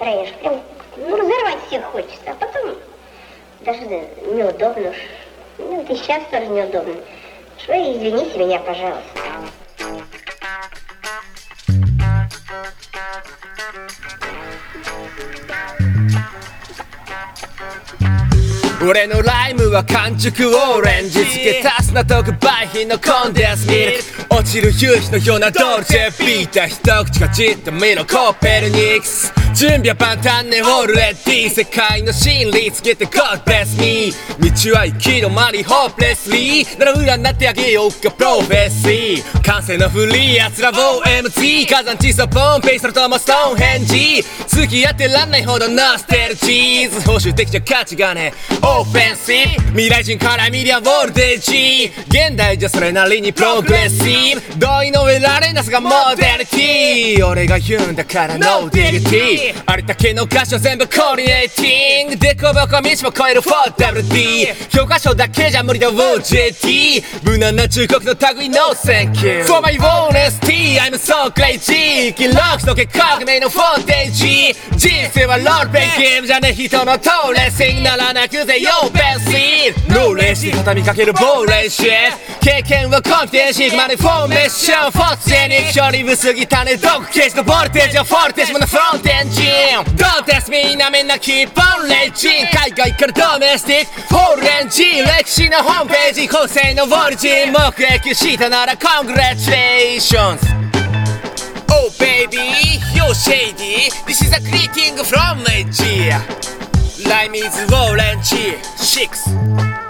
настроение, прям, ну, разорвать всех хочется, а потом даже неудобно. Ну, это и сейчас тоже неудобно. Что, извините меня, пожалуйста. 俺のライムは完熟オレンジ付け足すな特売品のコンデンスミルク落ちる夕日のようなドルチェビータ一口かじってみろコペルニクス準備は万端ねオールレディ世界の真理つけて God bless me 道は行き止まりホープレスリーなら占ってあげようかプロフェッシー完成のフリー奴ら OMG 火山地層ポンペイそれともストーンヘンジ付き合ってらんないほどノステルチーズ報酬的じゃ価値がねオフェンシブ未来人から見りゃウォルテージ現代じゃそれなりにプログレッシブ同意の上られなさがモデリティ俺が言うんだからノーディリティありったけの歌詞を全部コーディネーティングデコボコ道も超える 4WD 教科書だけじゃ無理だ OJT 無難な忠告の類 No thank you For my honesty I'm so crazy 記録とけ革命のフォンテージ人生はロールプレイゲームじゃね人のトーレーシングならなくぜよベンシーノーレーシー畳みかけるボーレーシー経験はコンフィデンシーマネフォーメーションフォースジェニック距離不過ぎたね毒ケージのボルテージはフォルテージものフロントエンジン Don't test me なめんなキープオンレイジン海外からドメスティックフォールエンジン歴史のホームページ構成のオリジン目撃したなら Congratulations Oh baby you're shady This is a greeting from Nigeria Lime is orange 6